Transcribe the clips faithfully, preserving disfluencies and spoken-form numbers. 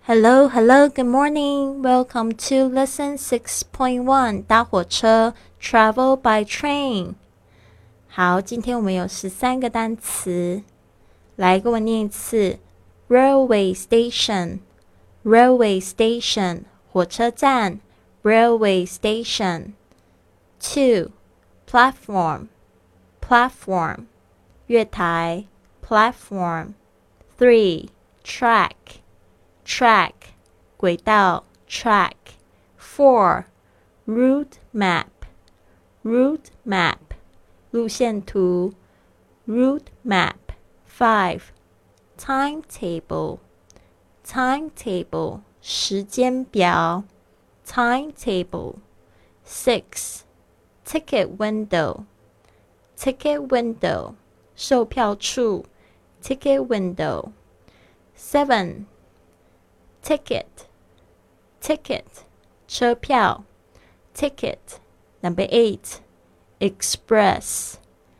Hello, hello, good morning. Welcome to lesson six point one 搭火车 Travel by train. 好，今天我们有十三个单词，来跟我念一次 Railway station, Railway station 火车站 Railway station. Two, Platform, Platform 月台 Platform. Three, Track, Track 轨道 Track. Four, Route map, Route map 路线图 Route map. Five, Timetable, Timetable 时间表 Timetable. Six, Ticket window, Ticket window 售票处 Ticket window. Seven, Ticket, Ticket 车票 Ticket. Number eight, Express,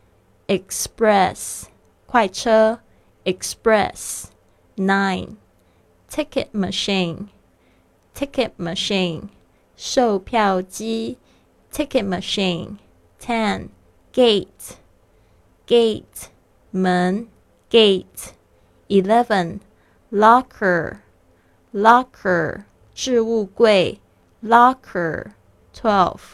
Express 快车 Express. Nine, Ticket machine, Ticket machine 售票机 Ticket machine. Ten, Gate, Gate 门 Gate. Eleven, Locker, Locker 置物柜 Locker. Twelve,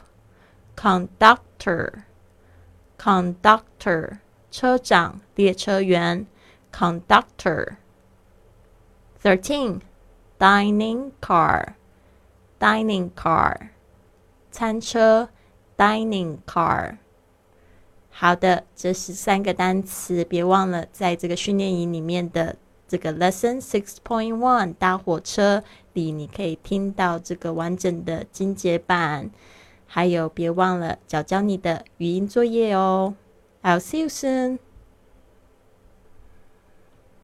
Conductor, Conductor 车长列车员 Conductor. Thirteen, Dining car, Dining car 餐车 Dining car. 好的，这是三个单词，别忘了在这个训练营里面的这个 lesson six point one 搭火车里，你可以听到这个完整的精简版，还有别忘了教教你的语音作业哦。I'll see you soon.